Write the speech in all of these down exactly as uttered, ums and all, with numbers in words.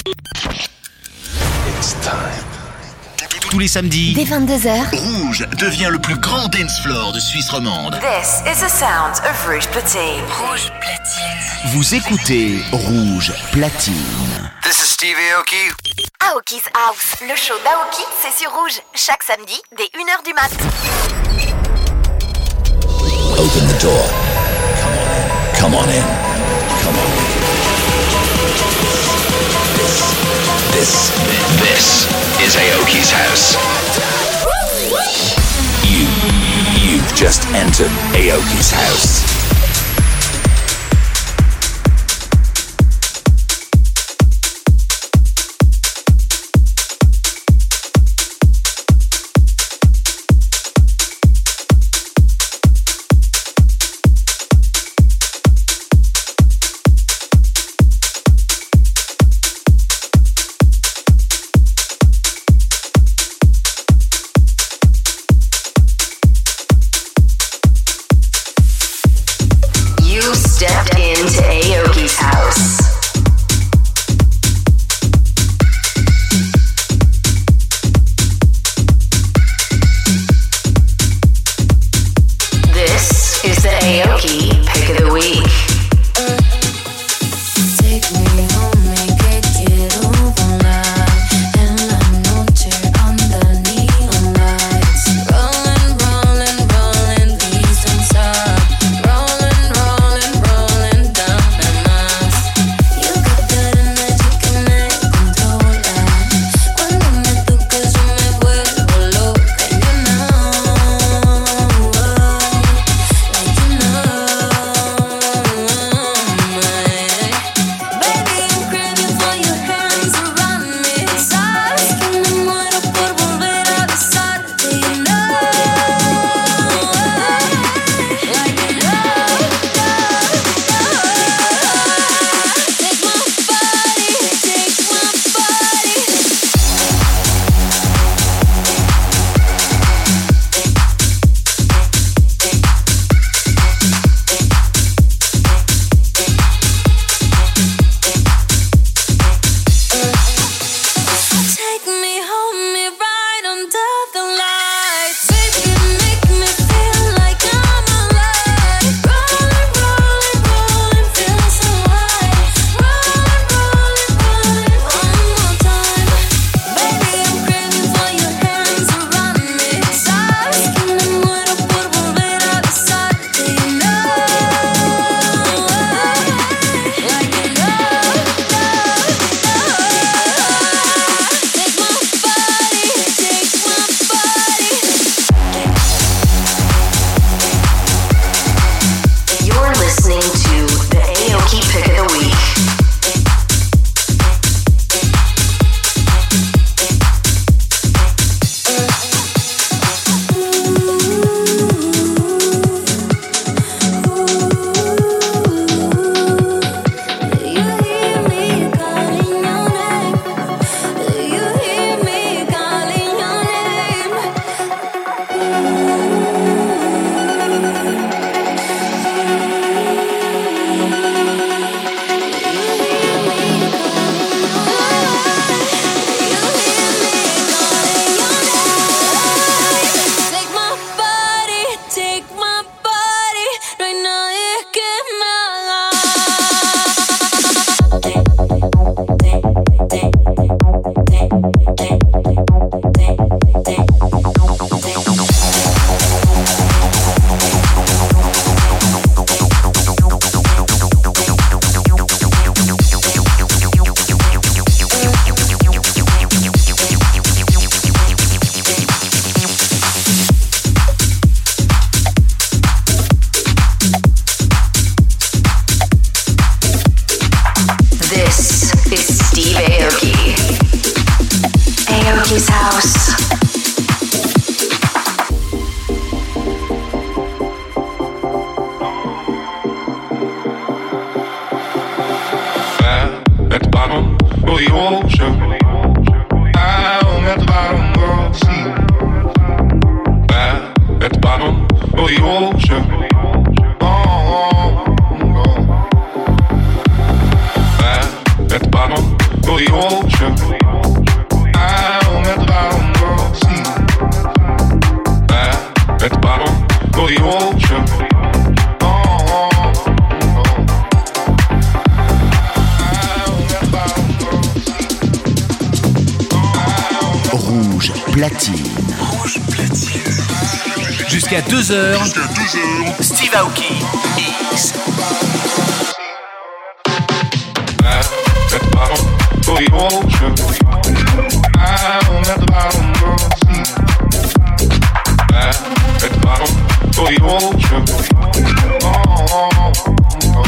It's time. Tous les samedis, dès vingt-deux heures, Rouge devient le plus grand dance floor de Suisse romande. This is the sound of Rouge Platine. Rouge Platine. vous écoutez Rouge Platine. This is Steve Aoki. Aoki's House. Le show d'Aoki, c'est sur Rouge. Chaque samedi, dès une heure du mat. Open the door. Come on in. Come on in. This, this, this is Aoki's house. You, you've just entered Aoki's house. Stepped into Aoki's house. This is the Aoki Pick of the Week. At the bottom for the ocean. I'm at the bottom of the sea. I'm at the bottom for the ocean. Oh, oh, oh. I'm at the bottom of the sea. Rouge platine. Rouge platine. Jusqu'à deux heures. Jusqu'à deux heures. Steve Aoki X. At the bottom for the ocean. I'm at the bottom of the sea. I'm at the bottom for the ocean. Oh, oh, oh.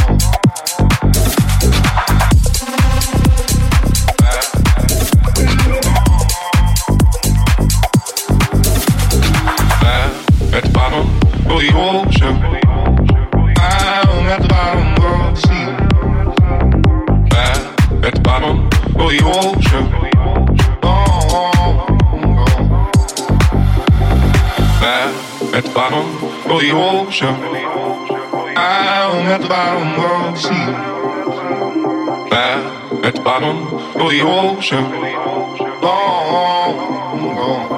I'm at the bottom for the ocean. I'm at the bottom of the sea. At the bottom of the ocean. Oh, oh, oh. At the bottom of the ocean. I'm at the bottom of the sea. At the bottom of the ocean. Oh, oh, oh.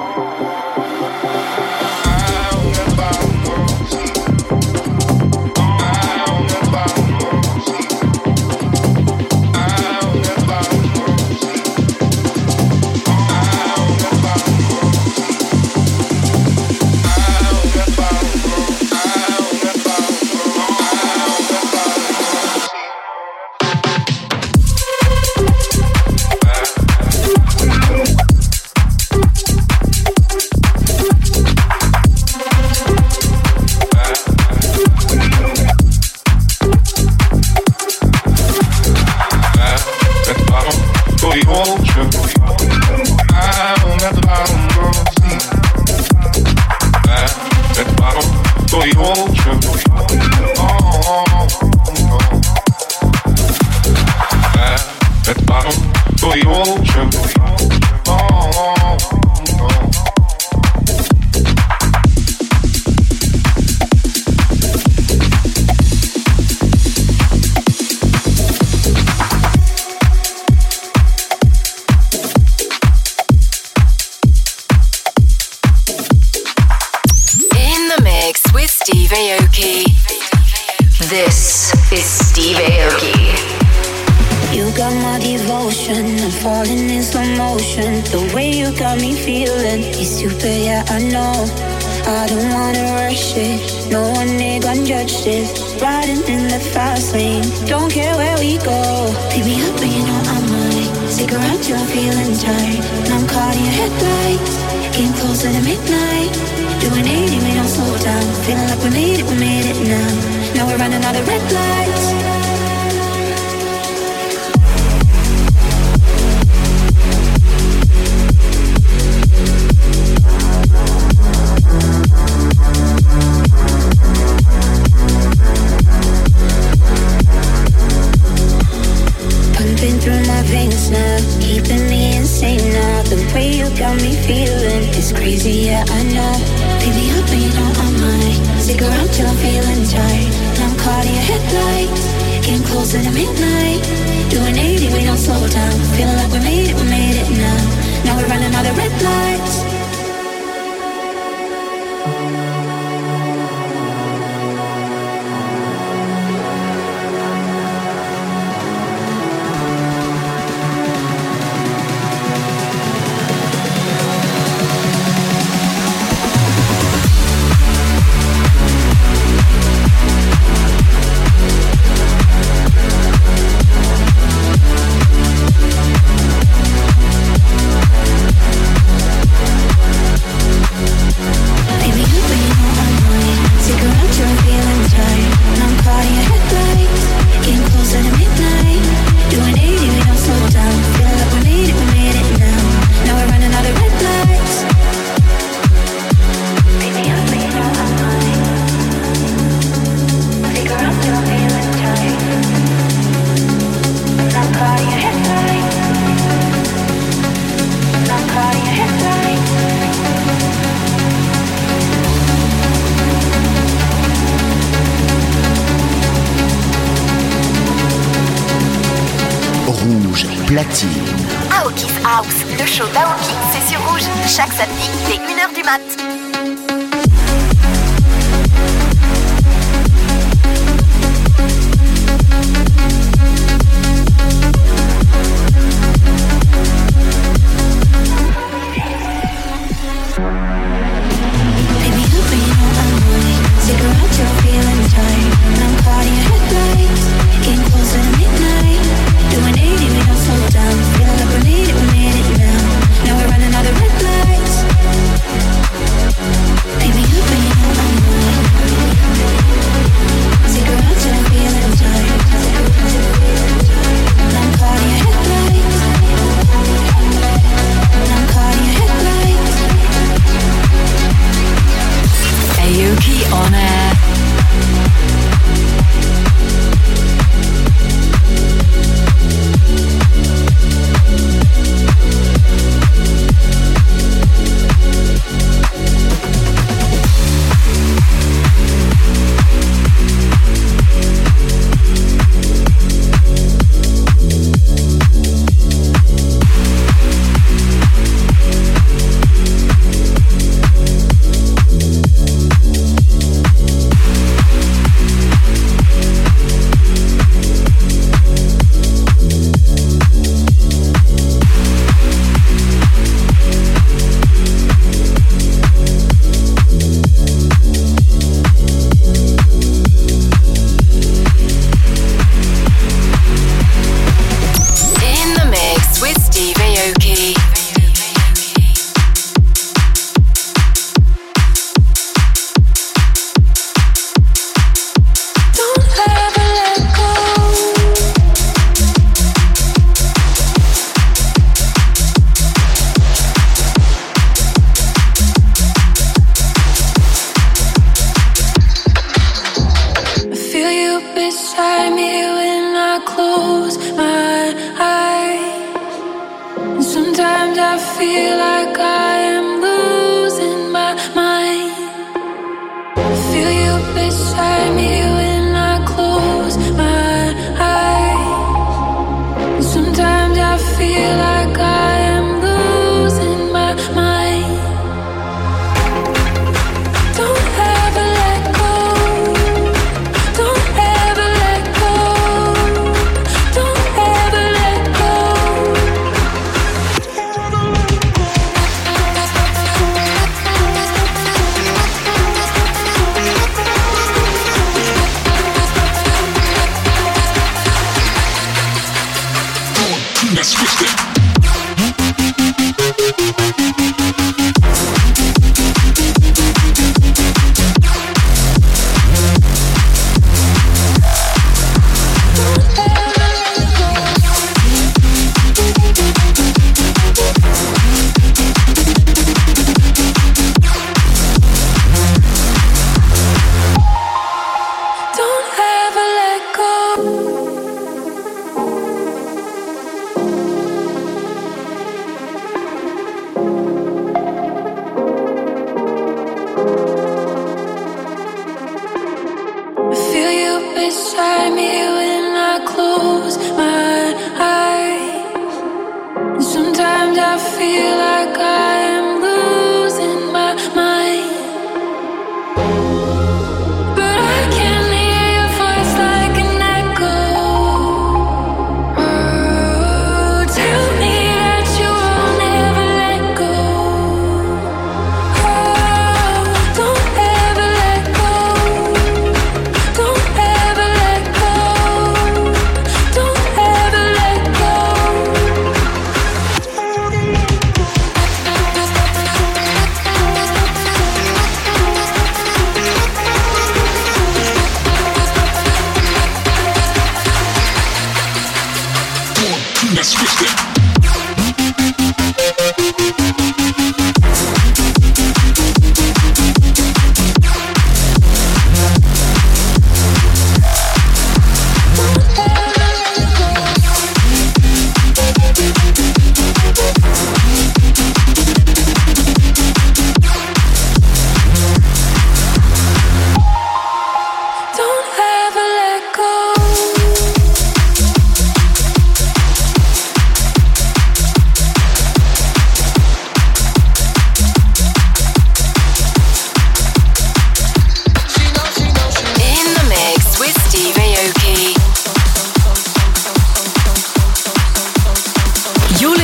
platine. Aoki's House, le show d'Aoki, c'est sur Rouge. Chaque samedi, dès une heure du mat'.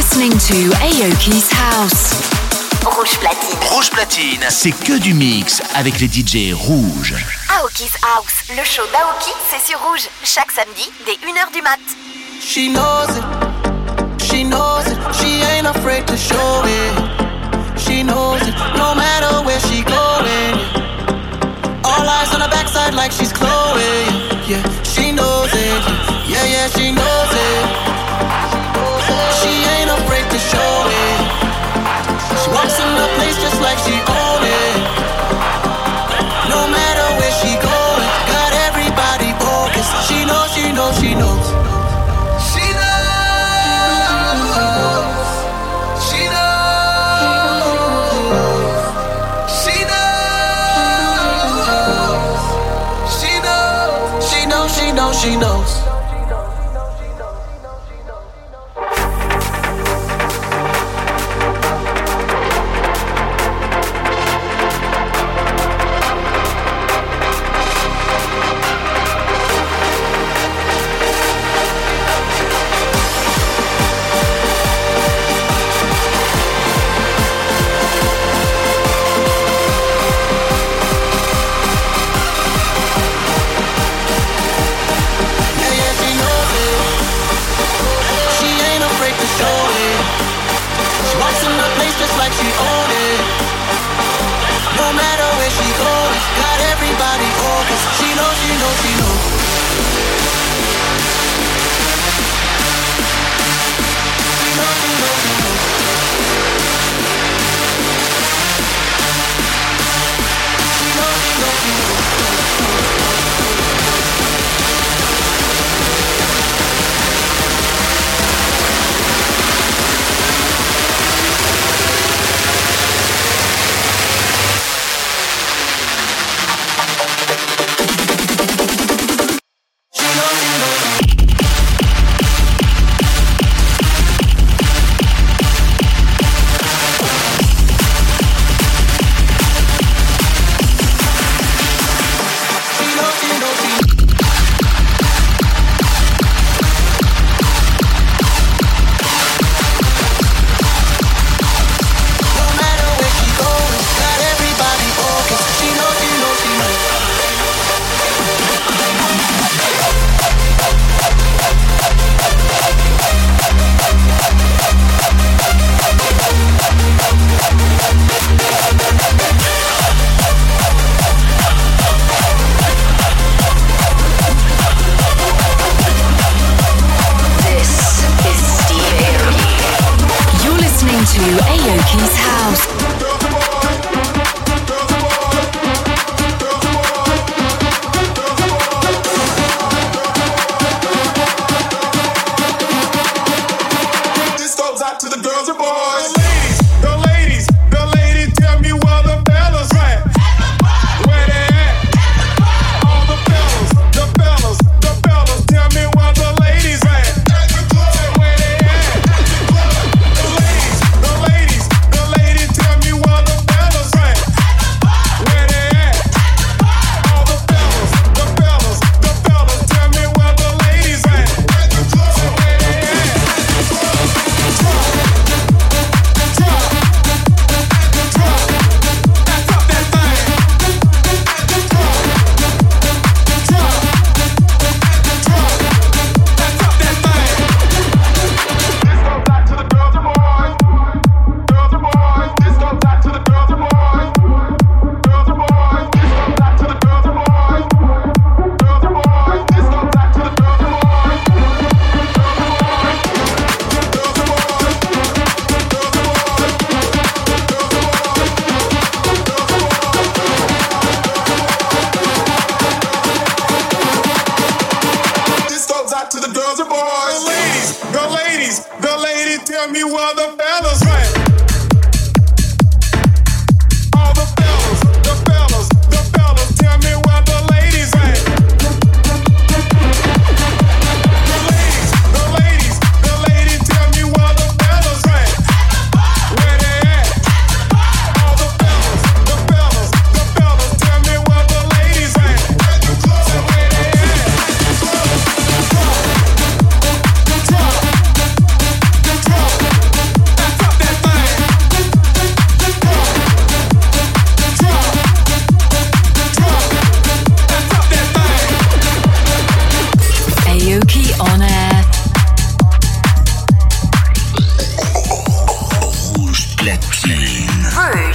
listening to Aoki's House. Rouge Platine. Rouge Platine, c'est que du mix avec les D J rouges. Aoki's House, le show d'Aoki, c'est sur Rouge, chaque samedi dès une heure du mat. She knows it, she knows it, she ain't afraid to show it. She knows it, no matter where she going. All eyes on her backside like she's Chloe. Yeah, she knows it, yeah, yeah, she knows it. She ain't afraid to show it. She walks in the place just like she own it. No matter where she going, got everybody focused. She knows, she knows, she knows. She knows. She knows. She knows. She knows. She knows, she knows, she knows.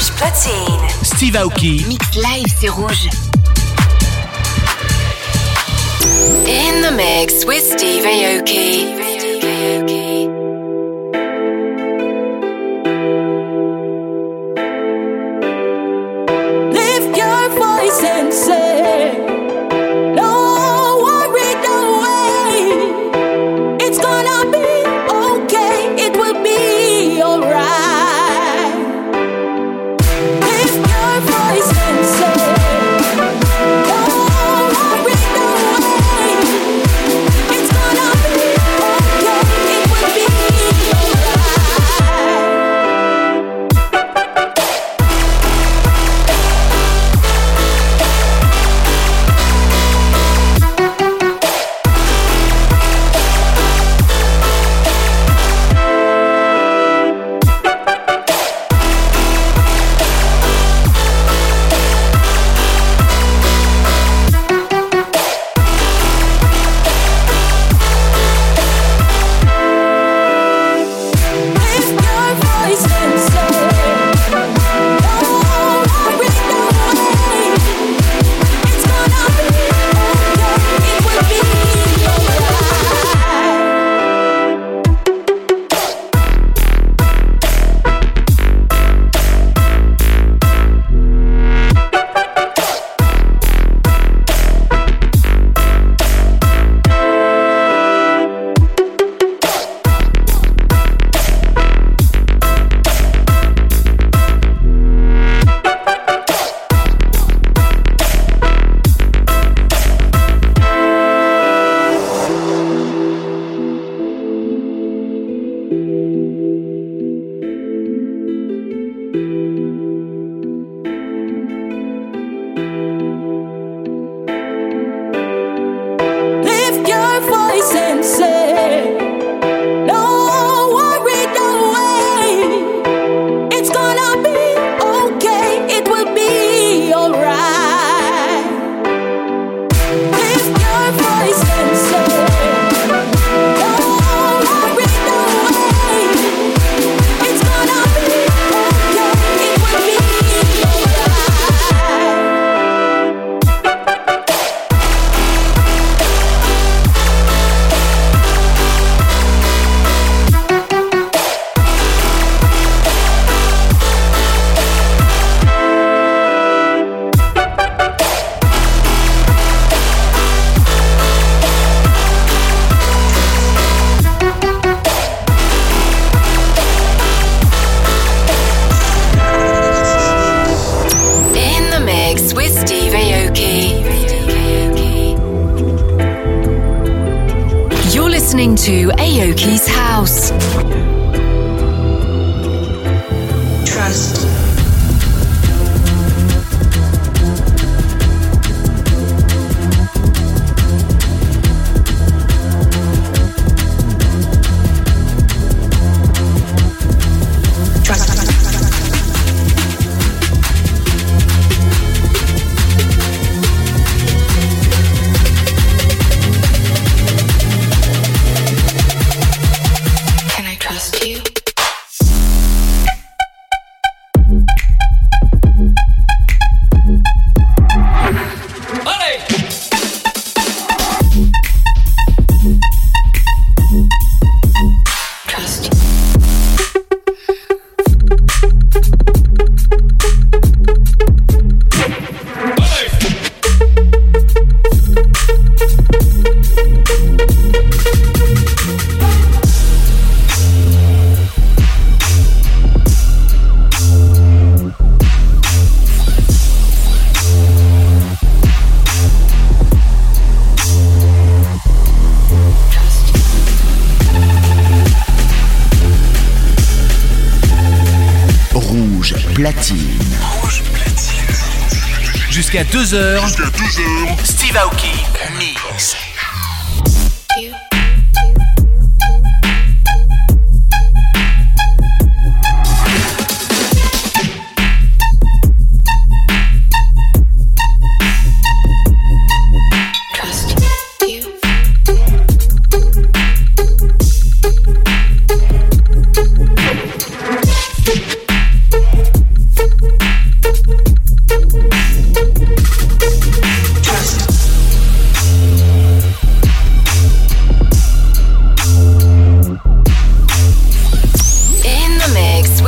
Rouge platine. Steve Aoki. Mix live, c'est rouge. In the mix with Steve Aoki. Lift your voice and say, no worry, no way. It's gonna be okay. It will be alright. Lift your voice and say, no worry, no way. It's gonna be okay. It will be to Aoki's house. Trust. Platine. Rouge platine. Jusqu'à deux heures. Jusqu'à deux heures. Steve Aoki. Mix. alright.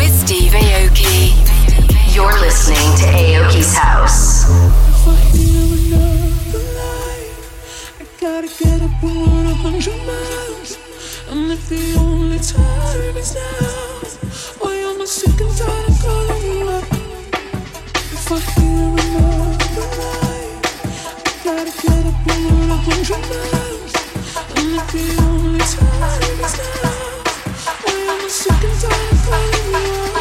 with Steve Aoki. You're listening to Aoki's House. If I hear another lie, I gotta get up and run a hundred miles. And if the only time is now, why am I sick and tired of calling you up? If I hear another lie, I gotta get up and run a hundred miles. And if the only time is now, why am I sick and tired of calling you up?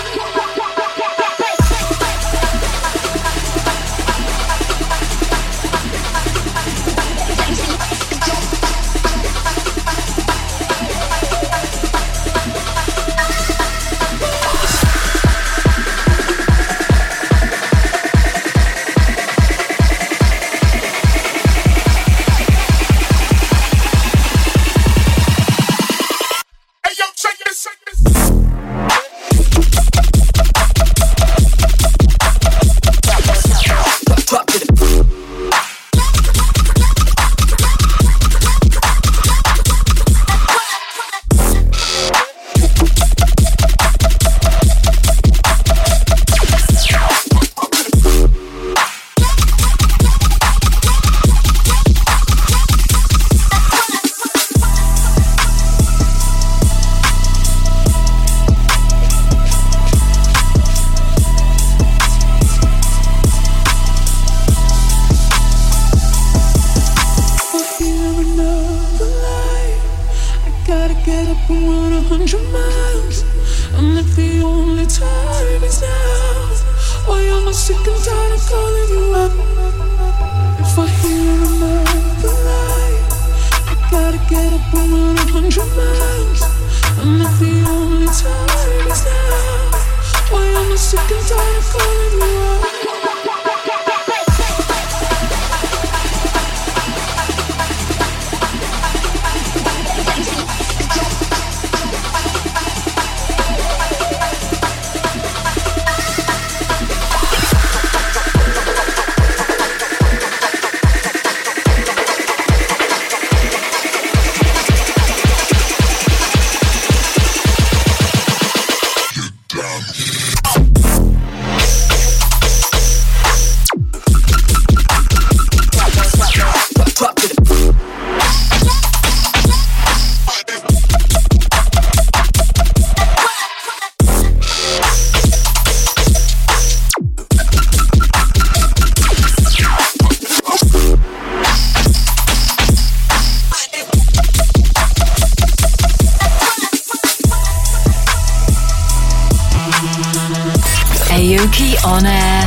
Aoki on air.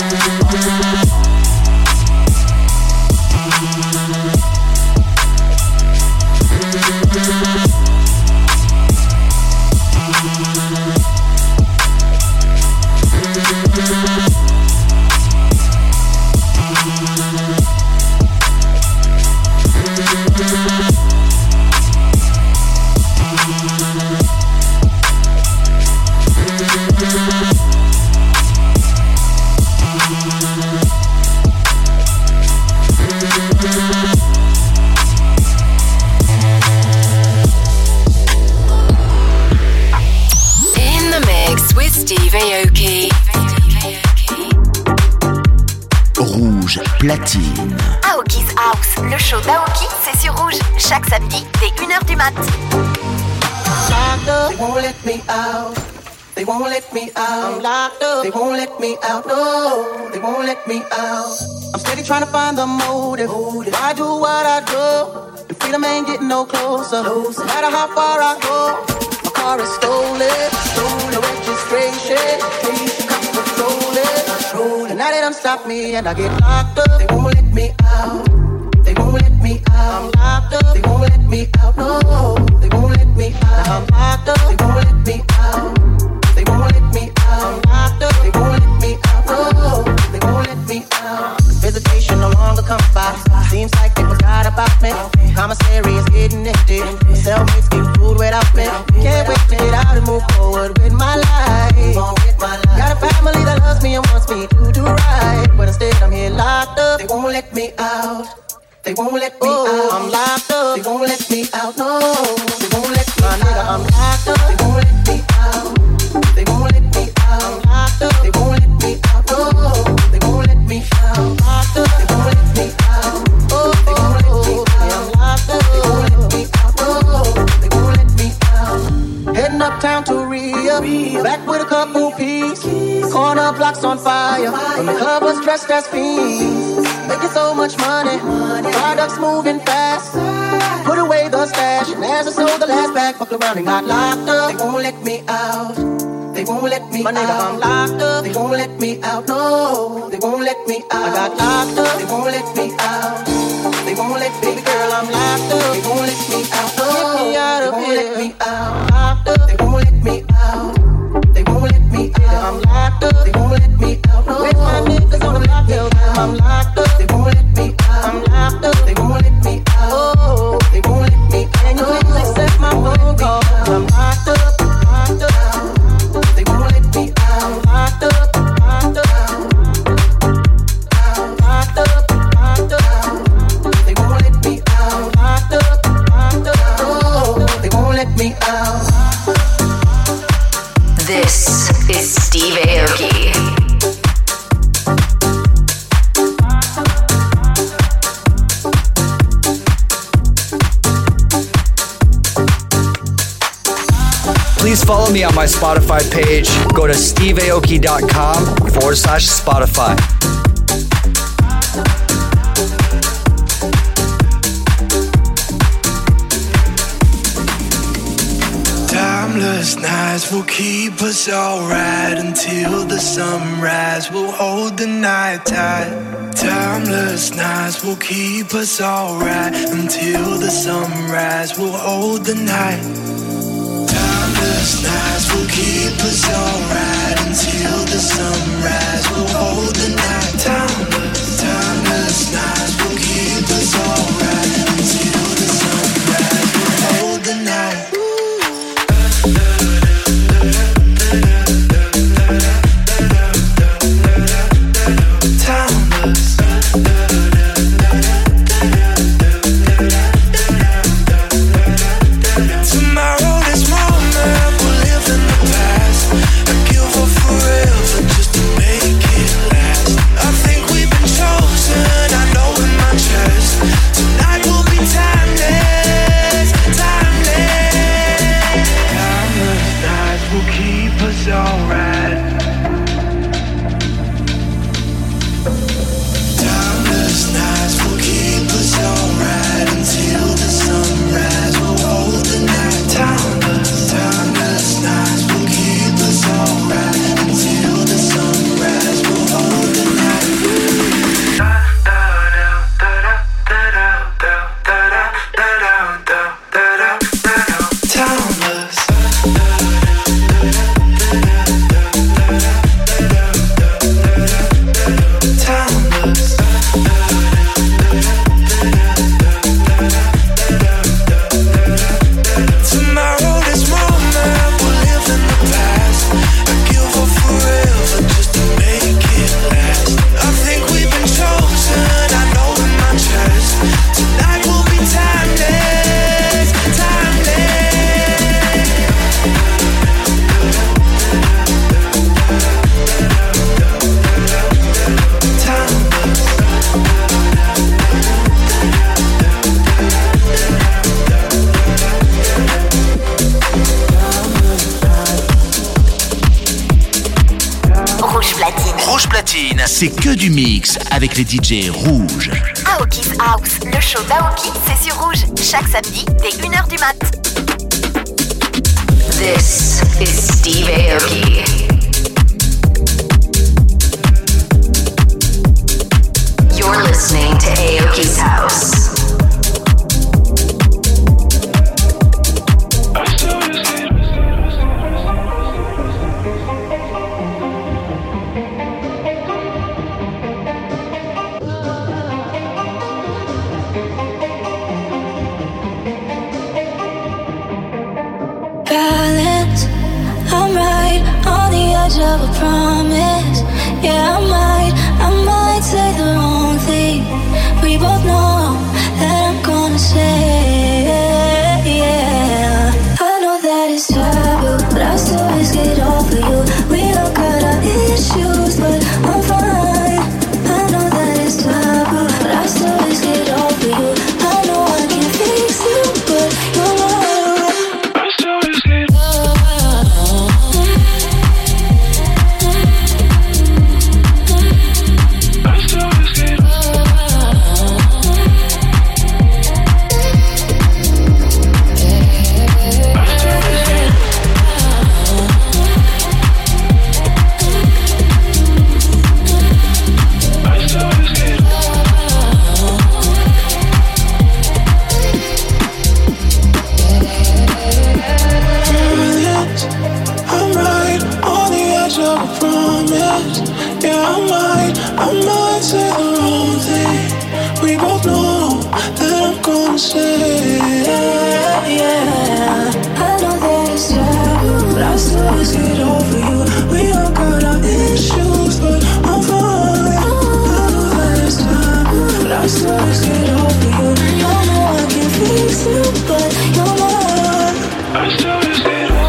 Platine. Aoki's House, le show d'Aoki, c'est sur Rouge, chaque samedi dès une heure du mat. Locked up, they won't let me out. They won't let me out. I'm locked up, they won't let me out. No, they won't let me out. I'm steady trying to find the motive. Why do what I do? The freedom ain't getting no closer. No matter how far I go, my car is stolen. Stolen registration. Cops patrol it. And now they done stop me and I get locked up. They won't let me out. They won't let me out. I'm locked up. They won't let me out. No, they won't let me out. I'm locked up. They won't let me out. They won't let me out. I'm locked up. They won't let me out. No, they won't let me out. Visitation no longer comes by. Seems like they forgot about me. Commissary is getting empty. Cellmates getting food without me. Can't wait to get out and move forward with my life. Got a family that loves me and wants me to do right, but instead I'm here locked up. They won't let me out. They won't let me oh, out. I'm locked up. They won't let me out. No, they won't let me out. I'm locked up. They won't let me out. They won't let me key. Back with a couple peas. Corner blocks on fire. When the club was dressed as fiends. Making so much money. Products moving fast. Put away the stash. And as I sold the last bag, fucked around and got locked up. They won't let me out. They won't let me out. My nigga, I'm locked up. They won't let me out. No, they won't let me out. I got locked up. They won't let me out. They won't let me, girl, I'm locked up. They won't let me out. No, get me out of here. They won't let me out. Locked up. They won't let me out. They won't let me out. I'm locked up. They won't let me out. No, where's my niggas on the lockdown? I'm locked up. They won't let me out. I'm locked up. They won't let me out. Oh, they won't let me out. And you ain't accept my phone call. I'm locked up. Locked up. They won't let me out. I'm locked up. Locked up. Locked up. Locked up. They won't let me out. Locked up. Locked up. Oh, they won't let me out. This is Steve Aoki. Please follow me on my Spotify page. Go to steve aoki dot com forward slash Spotify. Timeless nights will keep us alright until the sunrise. We'll hold the night tight. Timeless nights will keep us alright until the sunrise. We'll hold the night. Timeless nights will keep us alright until the sunrise. We'll hold the night. Timeless, timeless nights will keep us alright until the sunrise. We'll hold the night. C'est que du mix avec les D J rouges. Aoki's House, le show d'Aoki, c'est sur Rouge, chaque samedi dès une heure du mat. This is Steve Aoki. You're listening to Aoki's House. Of a promise, yeah, I might, I might say the wrong thing. We both know that I'm gonna say, yeah. I know that it's taboo, but I still risk it all for you. We don't got our issues, but I'm fine. I know that it's taboo, but I still risk it all for you. I know I can't fix you, but you're right. I still risk it all. words of a promise. Yeah, I might, I might say the wrong thing. We both know that I'm gonna say yeah, yeah. I know that it's sad, but I still can't get over you. We all got our issues, but I'm fine. I know that it's time, but I still can't get over you. I know I can fix you, but you're not. I still just get over you.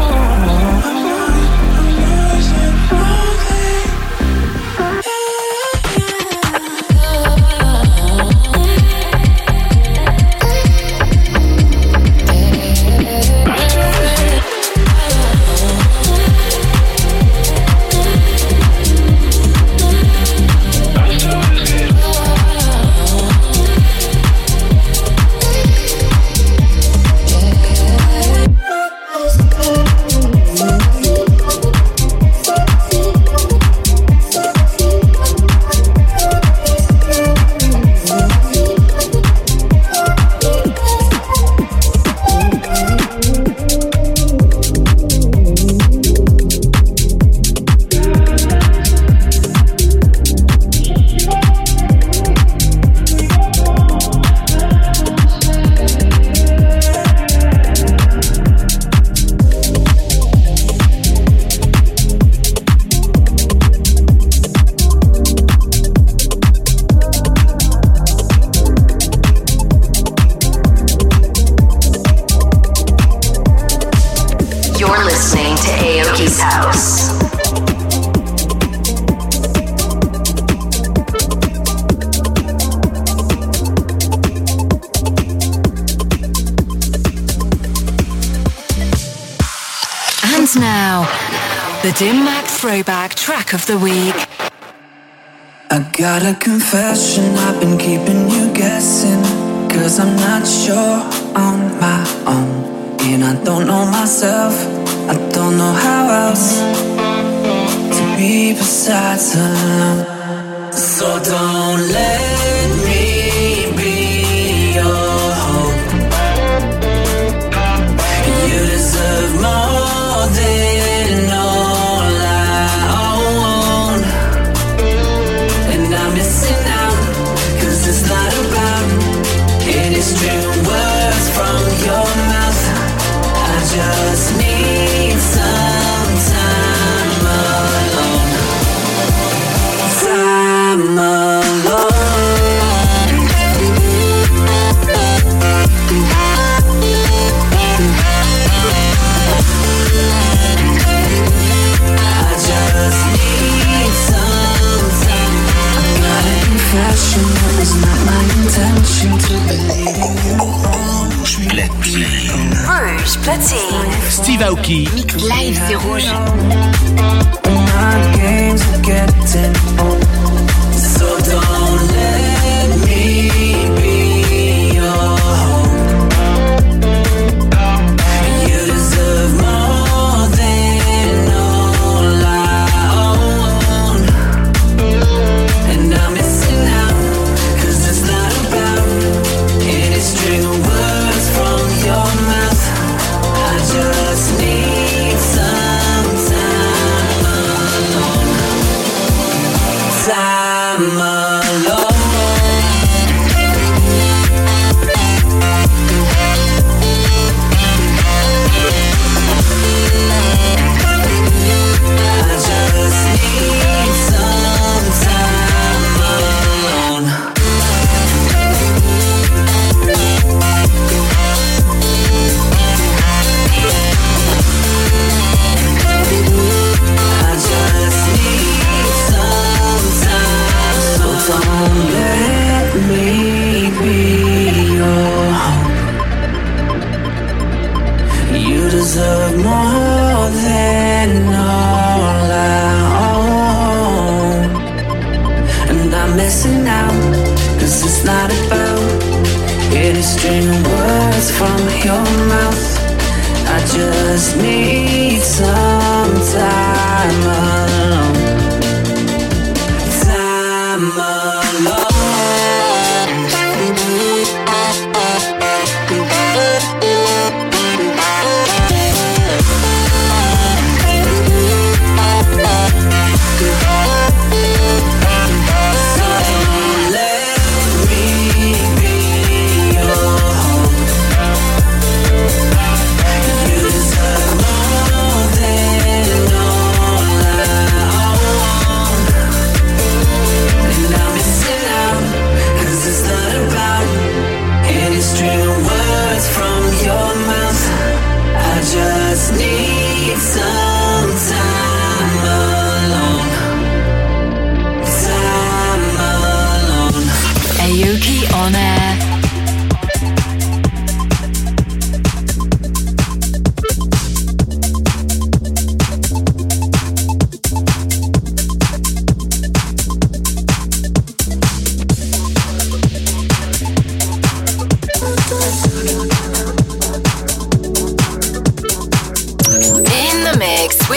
The Dim Mak Throwback Track of the Week. I got a confession, I've been keeping you guessing. Cause I'm not sure on my own. And I don't know myself, I don't know how else to be besides alone. So don't let me be your hope. You deserve more than all I own. And I'm missing out, cause it's not about any string words from your mouth. I just need some time alone. Time alone. It's not my intention to believe in you. Rouge Platine. Rouge Platine. Steve Aoki. Live, c'est Rouge. My games are getting old, so don't let me be your home. You deserve more than all I own. And I'm missing out, cause it's not about any string of words from your mouth. I just need some time alone.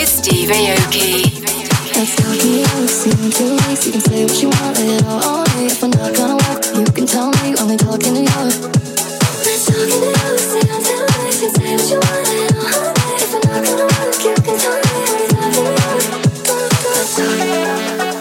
Steve Aoki. Let's talk in New York, see you in two weeks. You can say what you want, lay it all on me. If I'm not gonna work, you can tell me. Only talk in New York. Let's talk in New York, see you in two weeks. You can say what you want, lay it all on me. If I'm not gonna work, you can tell me. Only talk in New York. Let's talk in New York.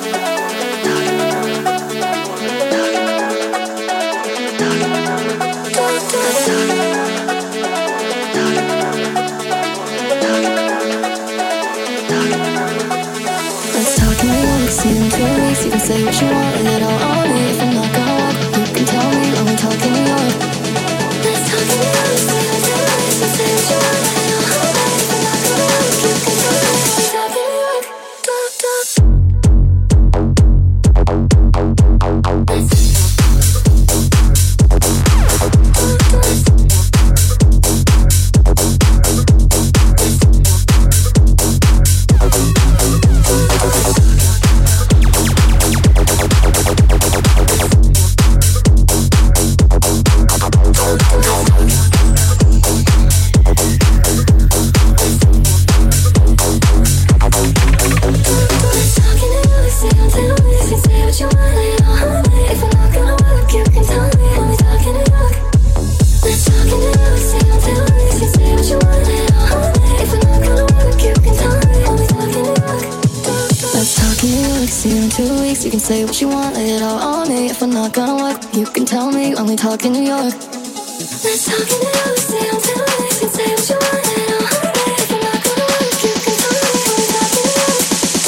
See you in two weeks, you can say what you want, lay it all on me. If I'm not gonna walk, you can tell me, only talk in New York. Let's talk in New York, see you in two weeks, you can say what you want, lay it all on me. If I'm not gonna walk, you can tell me, only talk in New York. Talk, talk. You can say what you want, lay it all on me. If I'm not gonna work, you can tell me, only talk in New York. Let's talk in New York, see you in two weeks. You can say what you want, lay it all on me. If I'm not gonna work, you can tell me, only talk in New York.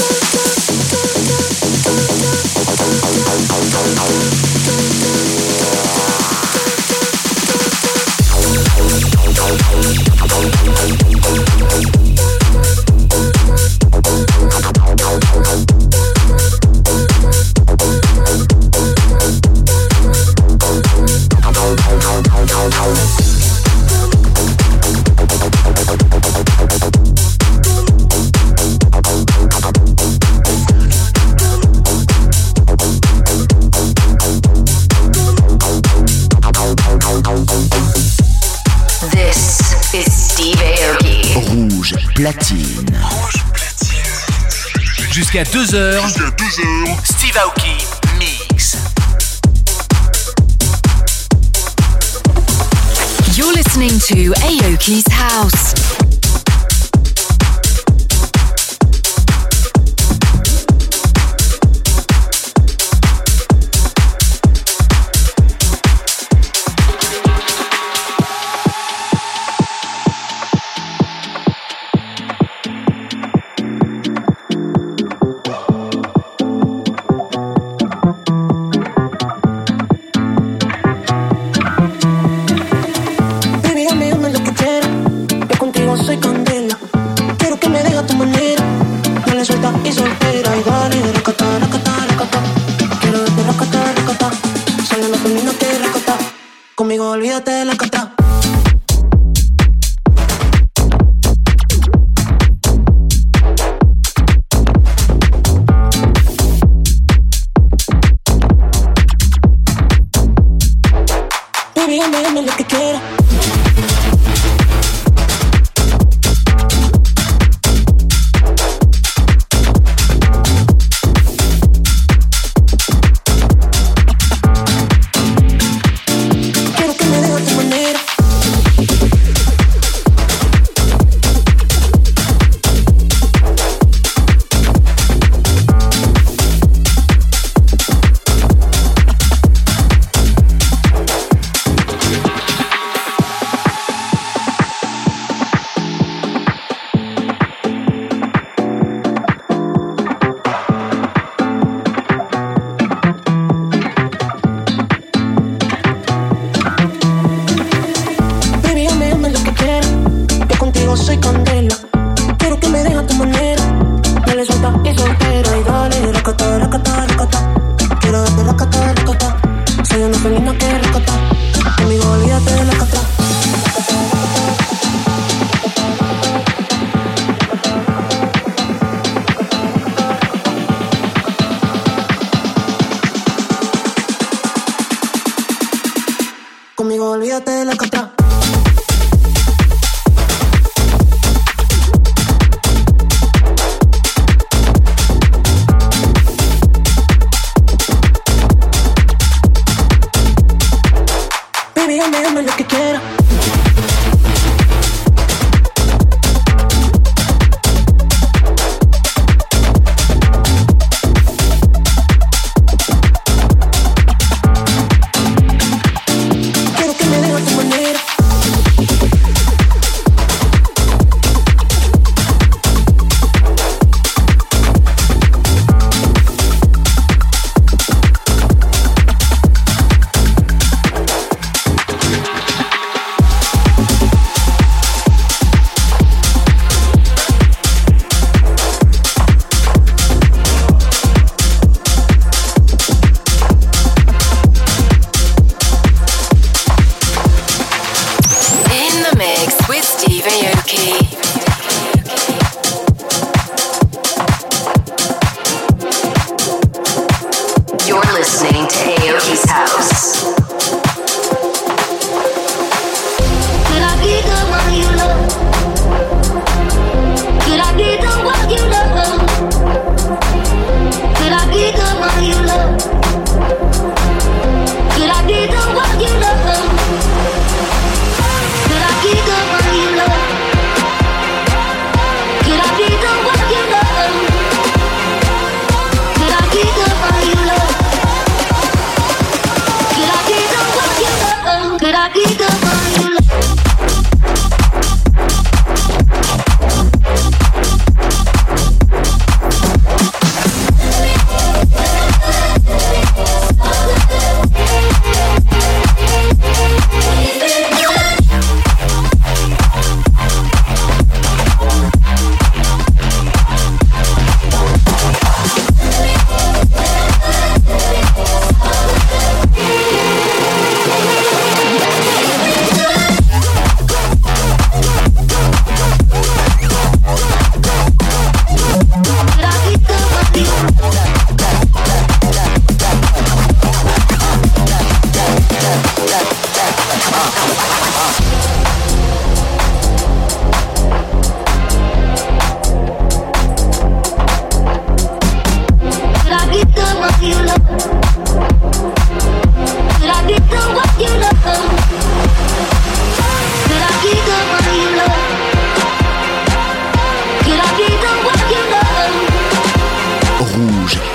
Platine. Rouge platine. Jusqu'à deux heures. Jusqu'à deux heures. Steve Aoki Mix. You're listening to Aoki's House. Olvídate de la cata. Baby, dame, dame lo que quiera. Conmigo olvídate de la cata.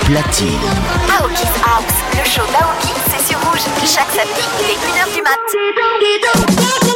platine. Aoki's House, le show d'Aoki, c'est sur Rouge. Chaque samedi, il est une heure du mat'.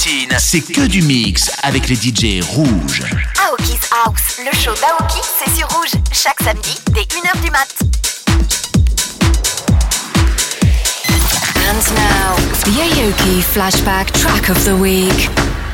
Platine, c'est que du mix avec les D J rouges. Aoki's House, le show d'Aoki, c'est sur Rouge, chaque samedi dès une heure du mat. And now, the Aoki Flashback Track of the Week.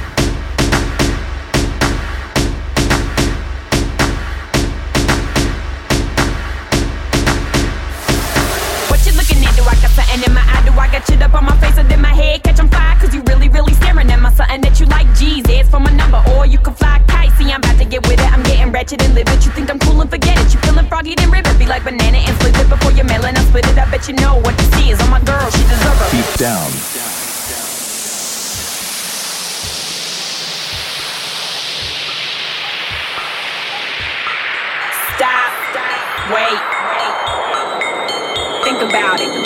What you looking at? Do I got something in my eye? Do I got shit up on my face or did my head catch on fire? Cause you really, really staring at my something that you like. G's, it's for my number, or you can fly kite. See, I'm about to get with it. I'm getting ratchet and live it. You think I'm cool and forget it. You feeling froggy, then rip it. Be like banana and flip it before you're mailing. I'll split it. I bet you know what this is. On my girl, she deserve it. Deep down. Stop. Wait. Think about it.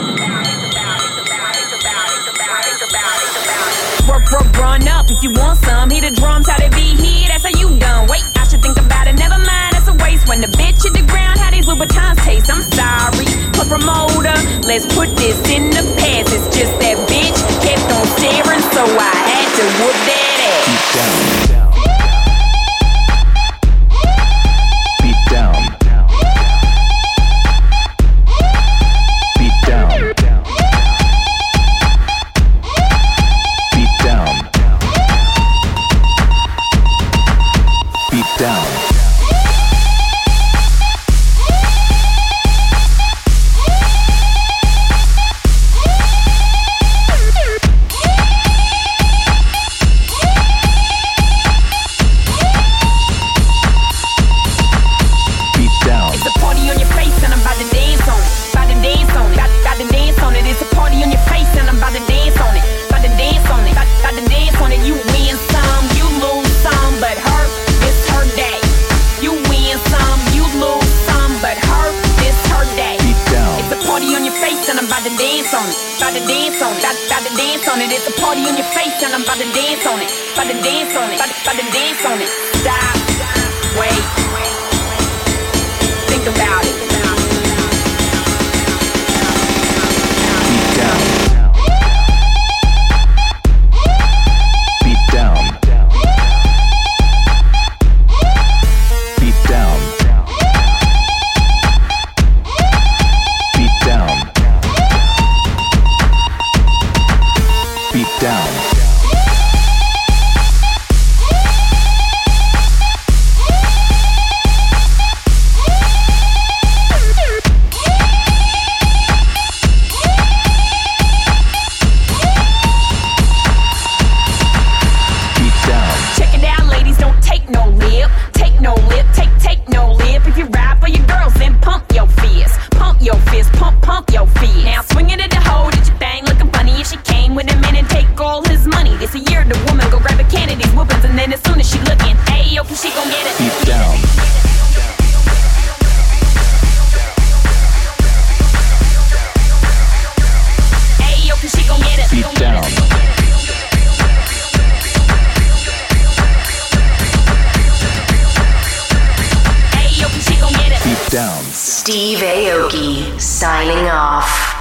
Work, work, run up if you want some. Hear the drums, how they be here. That's how you done. Wait, I should think about it. Never mind, that's a waste. When the bitch hit the ground, how these Louboutins taste. I'm sorry, but promoter, let's put this in the past. It's just that bitch kept on staring, so I had to whoop that ass. Deep down. Beat down. Beat down. Beat down. Beat down. It's a party on your face and I'm about to dance on it. About to dance on it. About to, about to dance on it. Stop. Wait. Think about it. Beat down. Beat down. Beat down. Beat down. Steve Aoki signing off.